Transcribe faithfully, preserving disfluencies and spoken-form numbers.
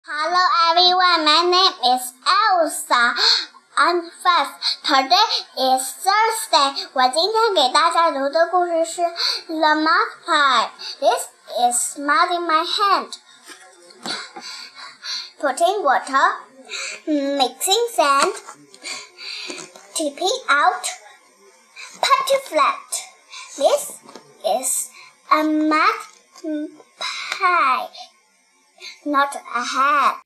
Hello everyone, my name is Elsa. I'm five. Today is Thursday. 我今天给大家读的故事是 The Mud Pie. This is mud in my hand. Putting water, mixing sand, tipping out, putty flat. This is a mud pie, not a hat.